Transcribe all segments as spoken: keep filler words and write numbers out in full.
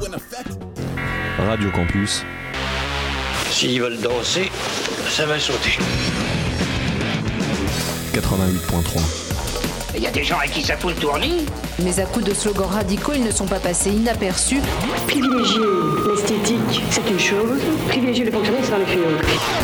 Radio Campus. S'ils veulent danser, ça va sauter. quatre-vingt-huit point trois. Il y a des gens à qui ça fout le tournis. Mais à coups de slogans radicaux, ils ne sont pas passés inaperçus. Privilégier l'esthétique, c'est une chose. Privilégier le fonctionnaire, c'est dans les fioles.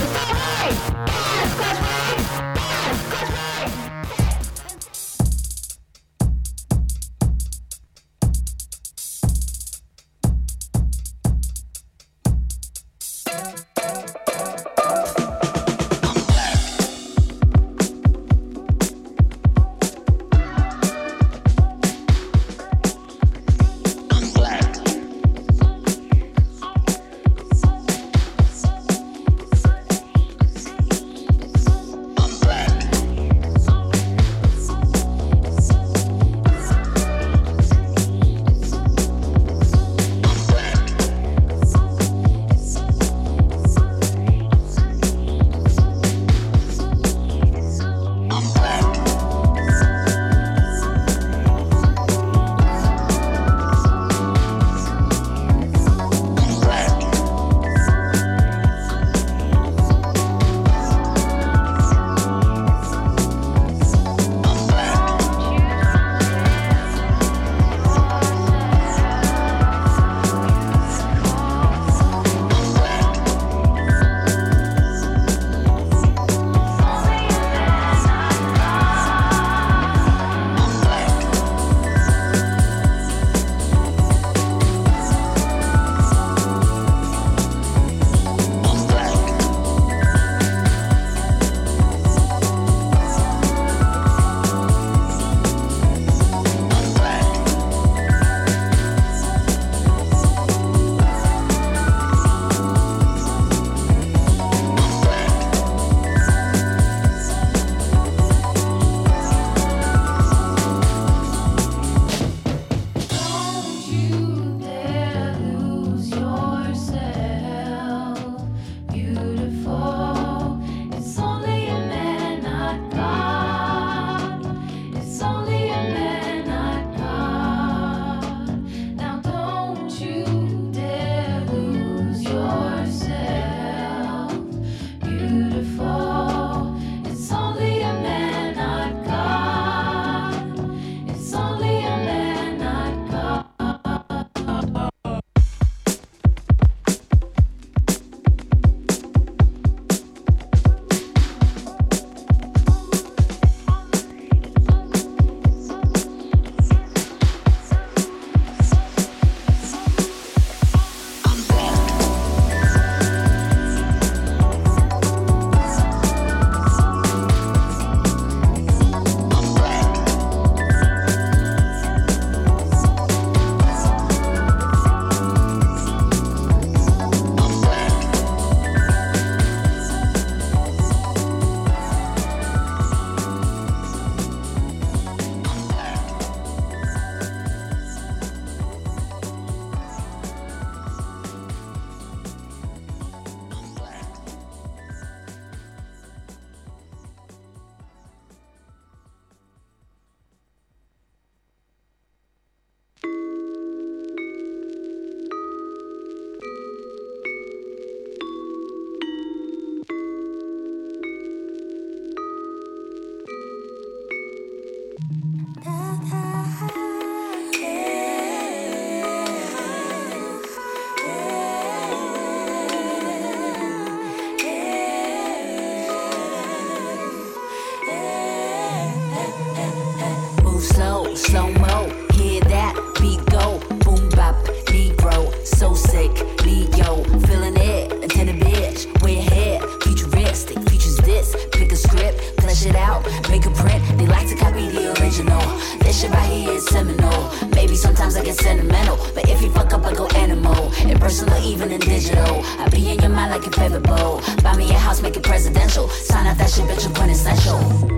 slow-mo, hear that beat go, boom bap, Negro, so sick, Leo, feeling it, into the bitch, way ahead, futuristic, features this, pick a script, flesh it out, make a print, they like to copy the original, this shit right here is seminal, maybe sometimes I get sentimental, but if you fuck up I go animal, impersonal even in digital, I be in your mind like a favorite bowl, buy me a house, make it presidential, sign out that shit, bitch, you're quintessential.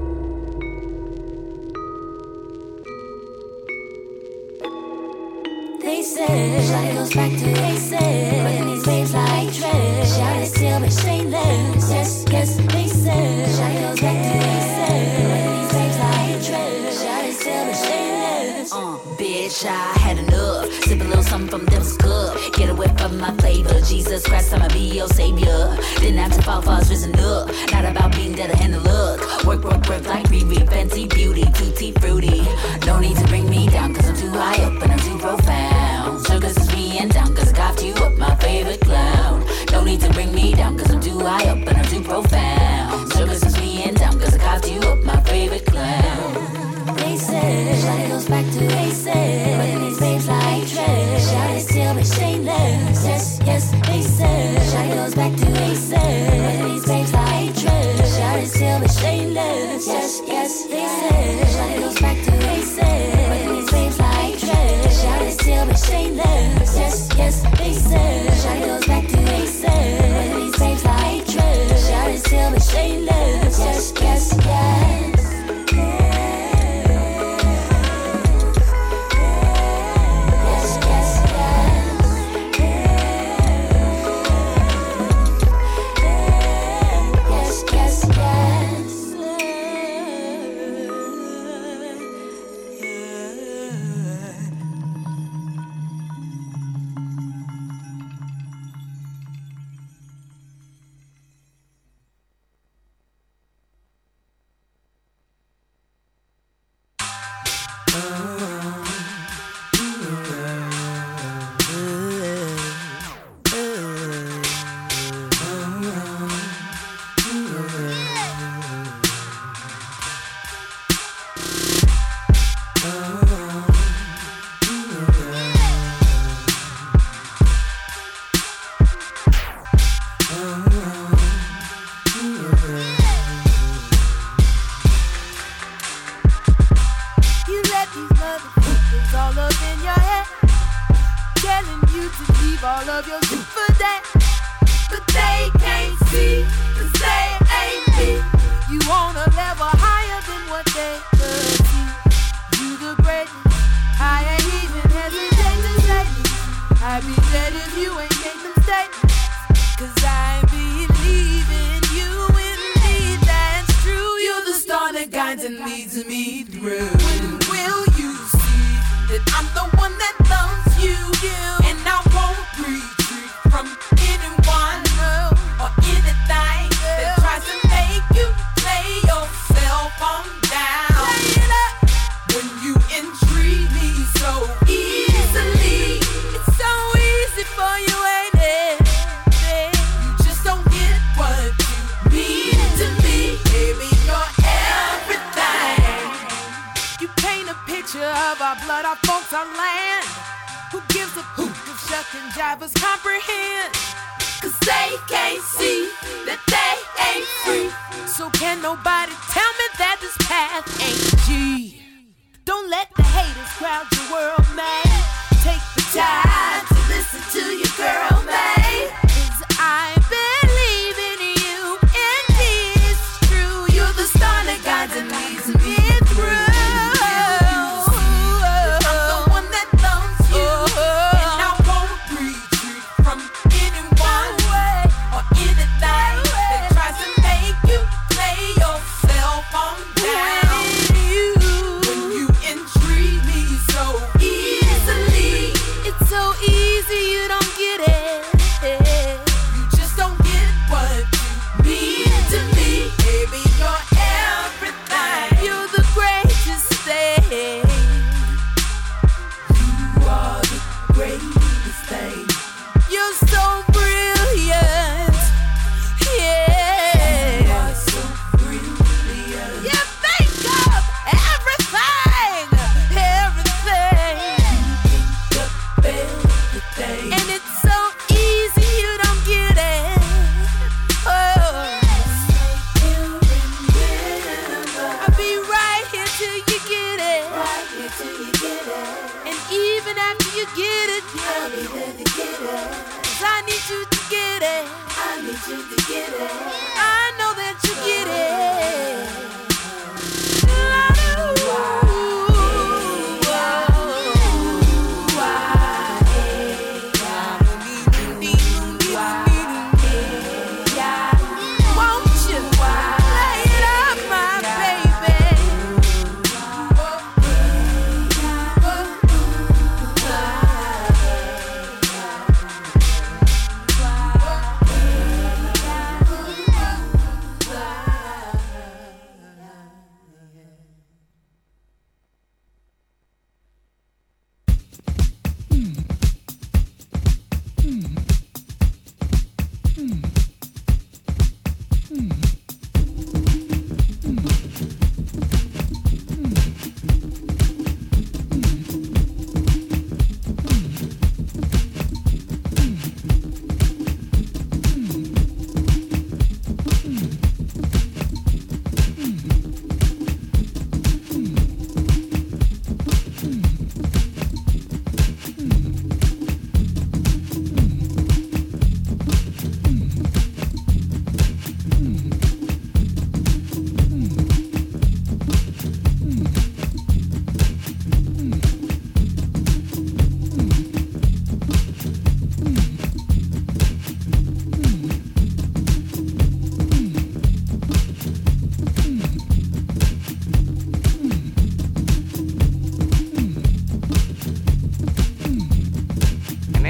They said, shawty goes back to they said, but in these waves like tread, shawty still but shameless. Yes, yes, they said, shawty goes back to they said, but in these waves like tread, shawty still but shameless. Uh, bitch, I had enough, sipping little something from them's good. Get away from my flavor. Jesus Christ, I'ma be your savior. Didn't have to fall, falls risen up. Not about being dead and the look. Work, work, work like Riri. Fancy beauty, tutti fruity. No need to bring me down, cause I'm too high up and I'm too profound. Sugar says me and down, cause I coughed you up, my favorite clown. No need to bring me down, cause I'm too high up and I'm too profound. Sugar says me and down, cause I coughed you up, my favorite clown. They said, Shawty goes back to basics, but these babes like trash. Shawty still be shameless. Yes, yes, they said, Shawty goes back to basics, but these babes like trash. Shawty still be shameless. Yes, yes, they said, Shawty goes back to basics, but these babes like trash. Shawty still be shameless. Yes, yes, they said, Shawty goes back to basics, but these babes like trash. Shawty still be shameless. Yes, yes, yes.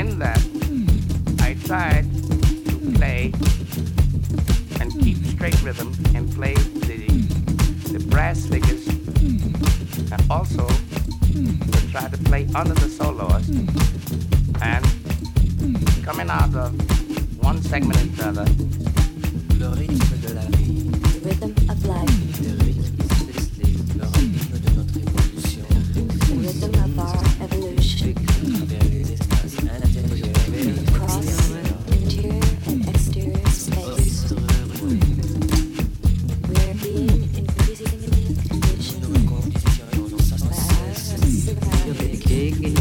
in that, I tried to play and keep straight rhythm and play the, the brass figures, and also to try to play under the solos, and coming out of one segment into another. Le rythme de la vie. The rhythm of life. Le rythme céleste, le rythme de notre évolution. The rhythm of our evolution. Across interior and exterior space. We're being increasingly conditioned by our civilization.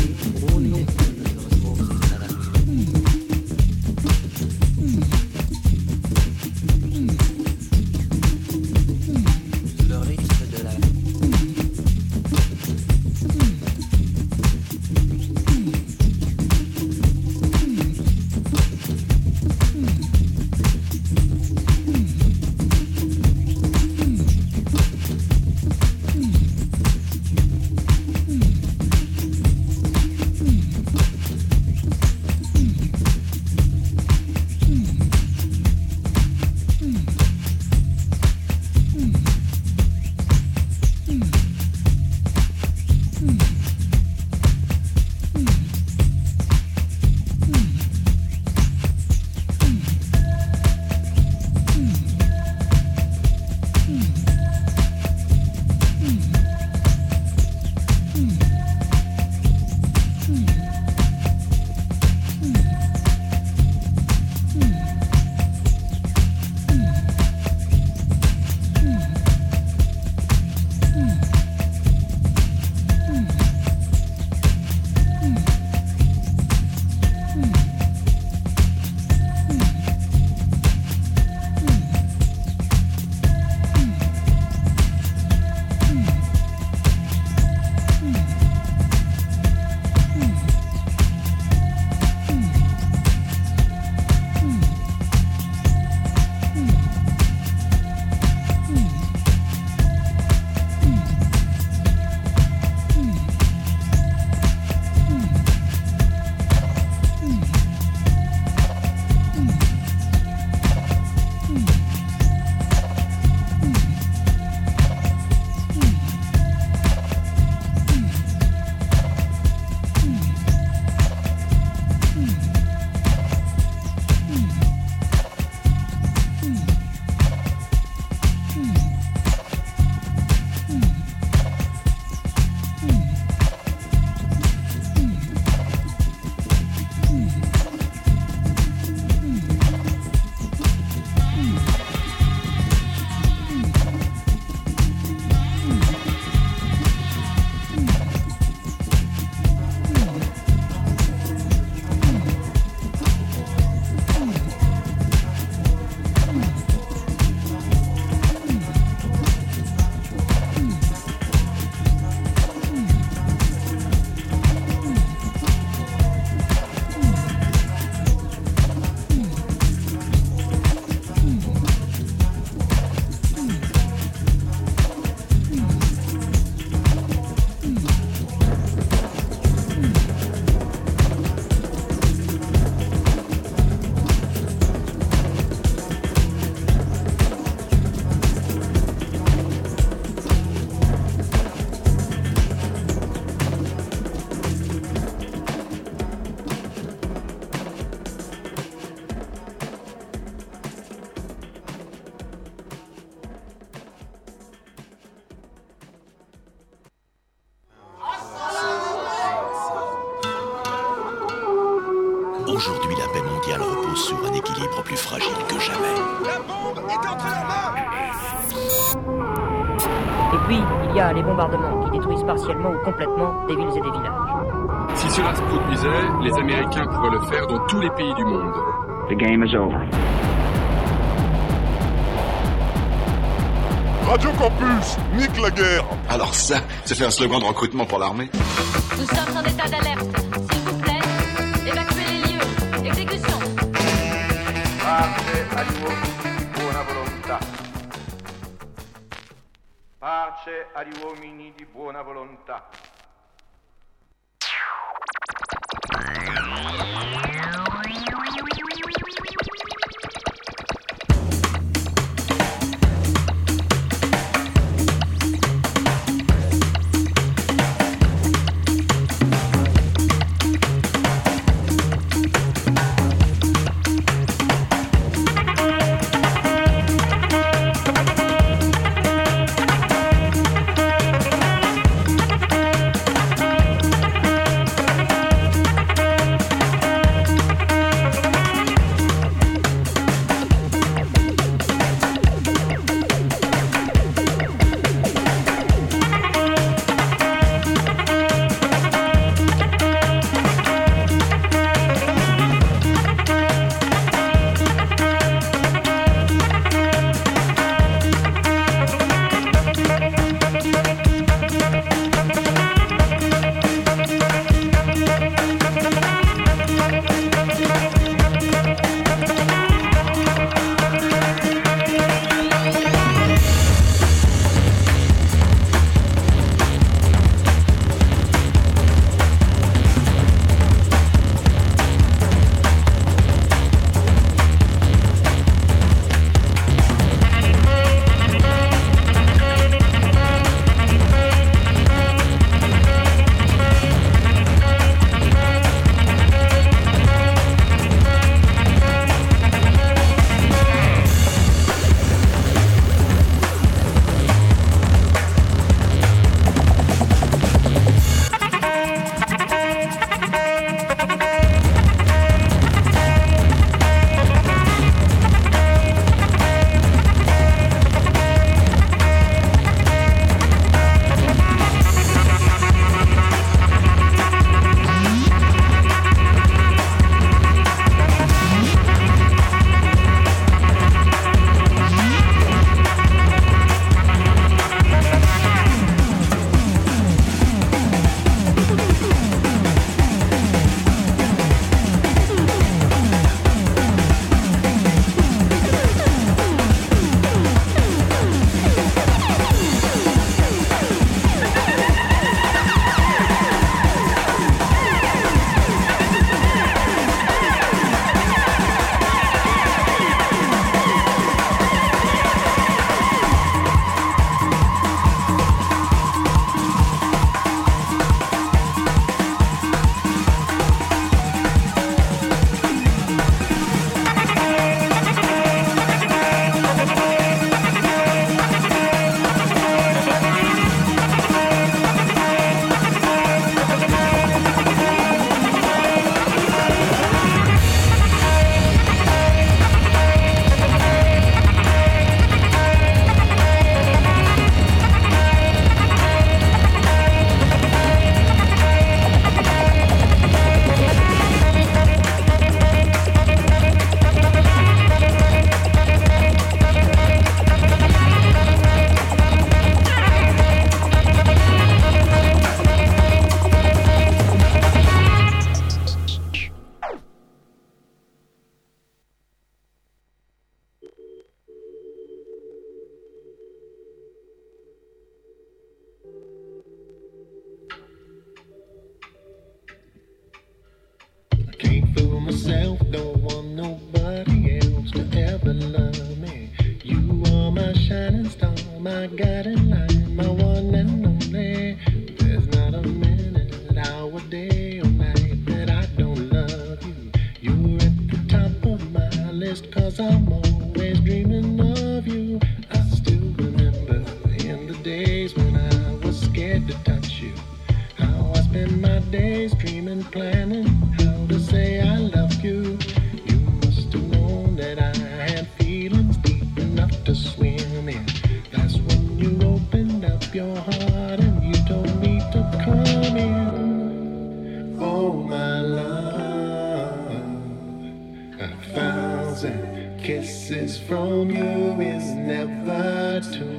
Aujourd'hui, la paix mondiale repose sur un équilibre plus fragile que jamais. La bombe est entre leurs mains. Et puis, il y a les bombardements qui détruisent partiellement ou complètement des villes et des villages. Si cela se produisait, les Américains pourraient le faire dans tous les pays du monde. The game is over. Radio Campus, nique la guerre. Alors ça, ça fait un slogan de recrutement pour l'armée. Nous sommes en état d'alerte. S'il vous plaît, évacuez les lieux. Exécution. Pace agli uomini di buona volontà. Pace agli uomini di buona volontà. I'm always dreaming of you. I still remember in the days when I was scared to touch you, how I spent my days dreaming, planning how to say I love you. You must have known that I had feelings deep enough to swim in. That's when you opened up your heart and you told me to come in. Oh my love, a thousand kisses from you is never too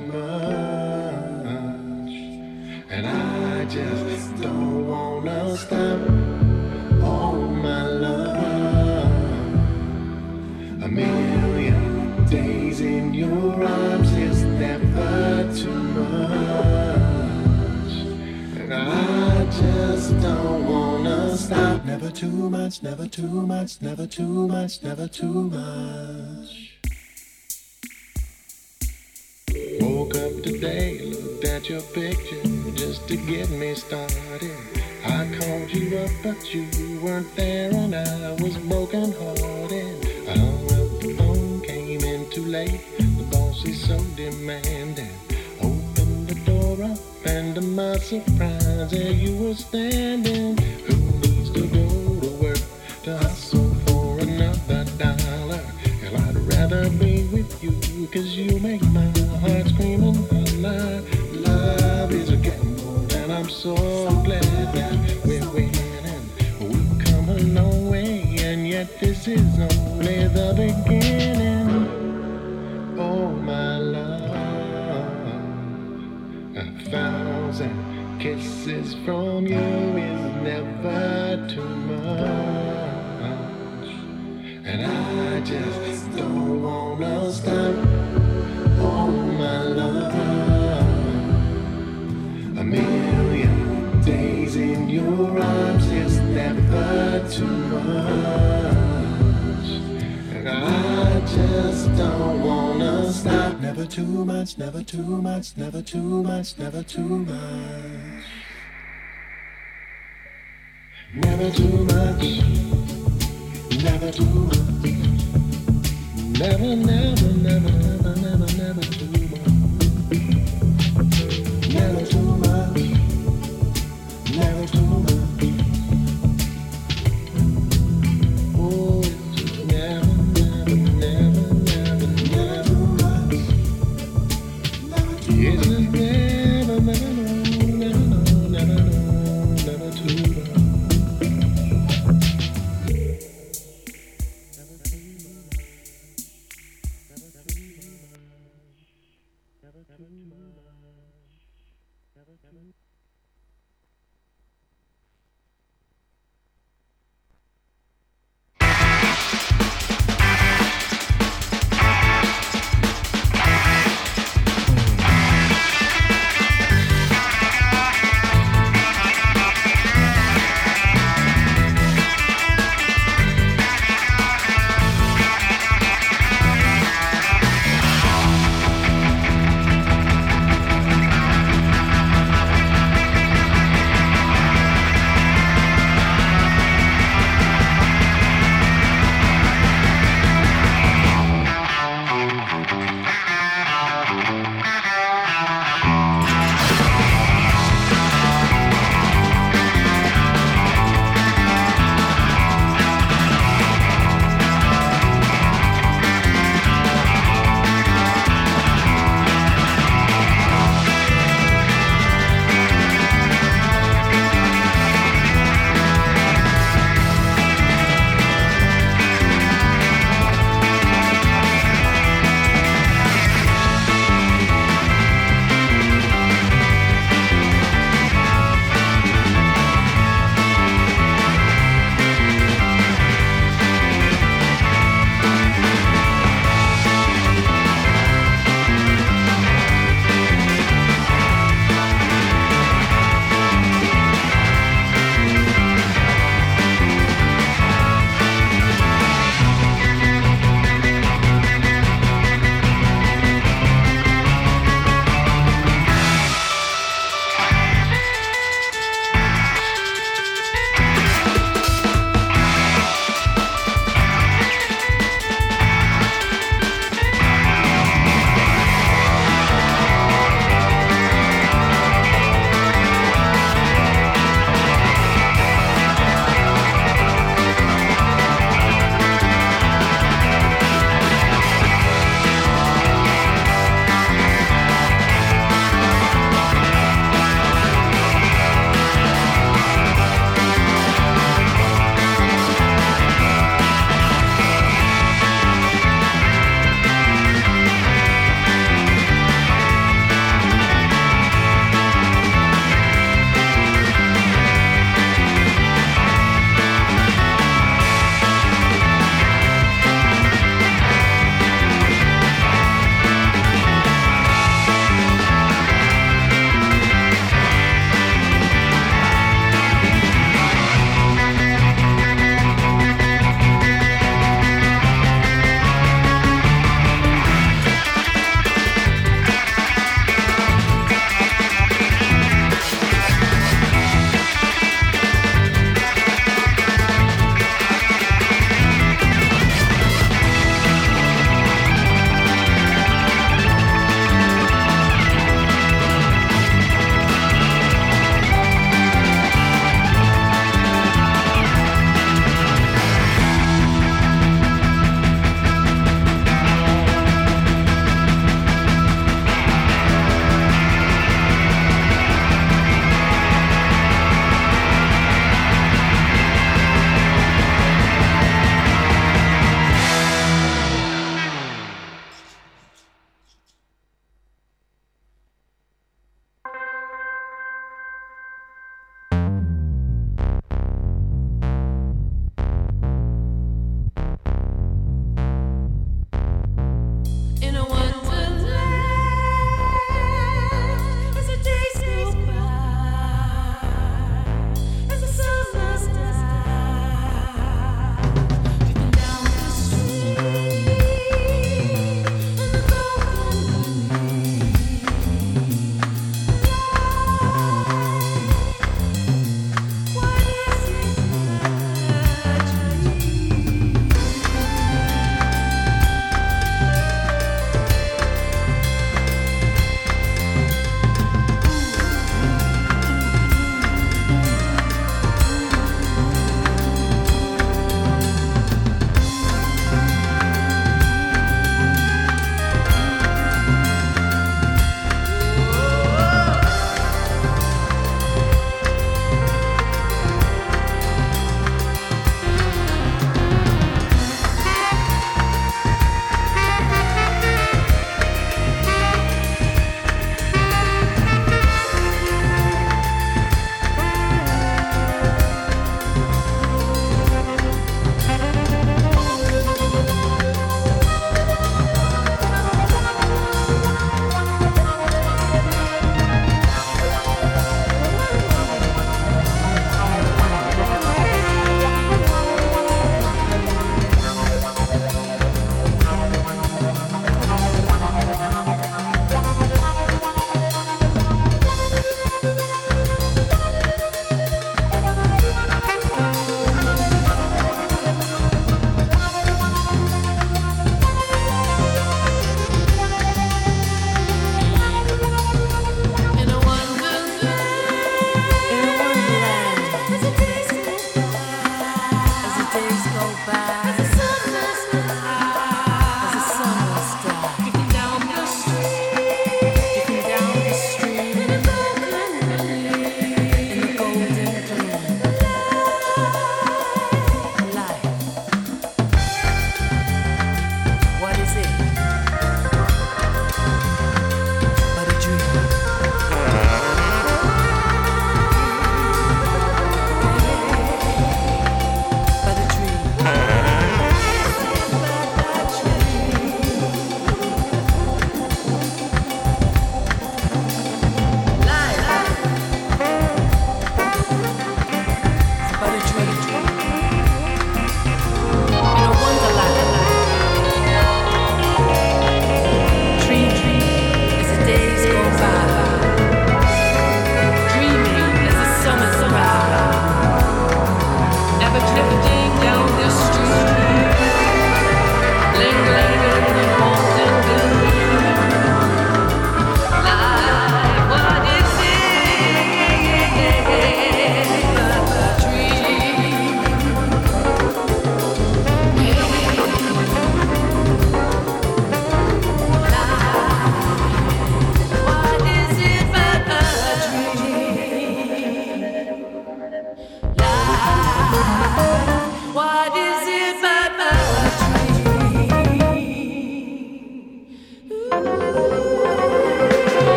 much, and I just don't wanna stop. Oh my love, a million days in your arms is never too much, and I just don't wanna stop. Never too much, never too much, never too much, never too much. Woke up today, looked at your picture just to get me started. I called you up, but you weren't there, and I was broken hearted. I hung up the phone, came in too late. The boss is so demanding. Opened the door up, and to my surprise, there you were standing. Who needs to go to work to hustle for another dollar? Hell, I'd rather be with you, 'cause you make my heart scream and holler. Love is a gamble, and I'm so glad that we're winning. We've come a long way, and yet this is only the beginning. Oh my love, a thousand kisses from you is never too much, and I just don't wanna stop. Oh my love, a million days in your arms is never too much, and I just don't wanna stop. Never too much, never too much, never too much, never too much. Never too much, never too much. Never, never, never, never, never, never too much. Never too much, never too much. Oh, it's never, never, never, never, never much. It's just never, never, never, never, never, never too much. Never too much. Never too much.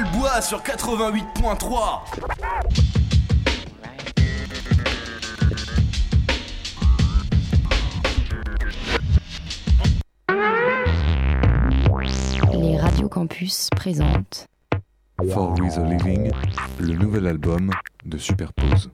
le bois sur quatre-vingt-huit point trois. Les Radio Campus présentent For With a Living, le nouvel album de Superpose.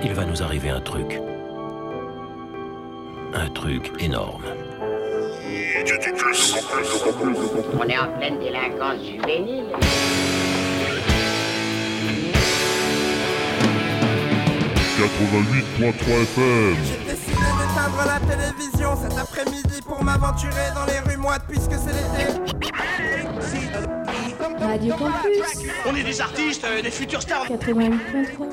il va nous arriver un truc. Un truc énorme. On est en pleine délinquance juvénile. quatre-vingt-huit point trois F M. J'ai décidé d'éteindre la télévision cet après-midi pour m'aventurer dans les rues moites puisque c'est l'été. Radio Campus. On est des artistes, euh, des futurs stars. quatre-vingt-huit point trois.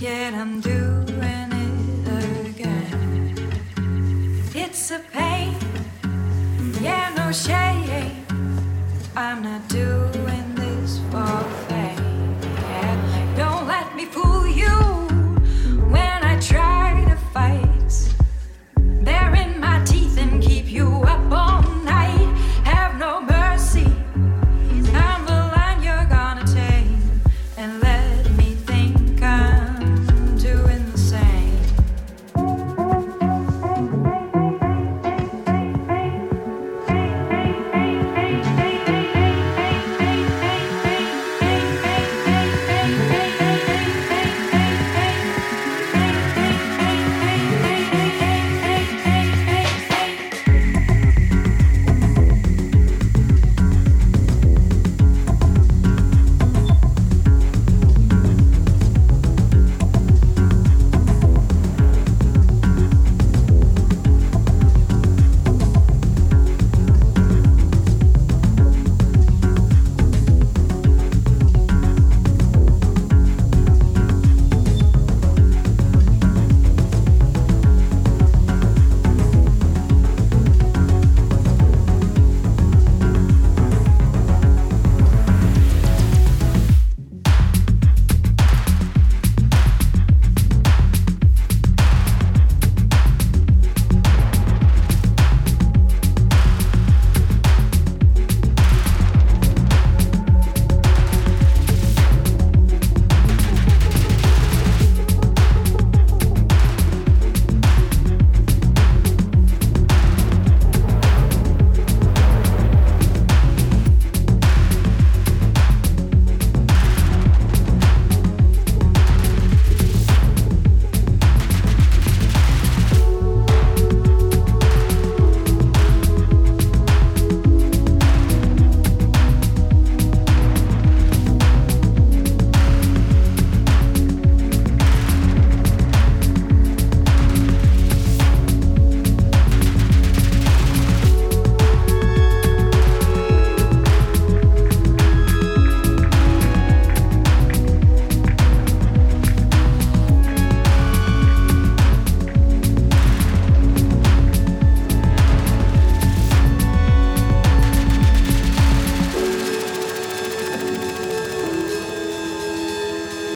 yet I'm doing it again. It's a pain, yeah, no shame. I'm not doing this for fame. Don't let me fool you.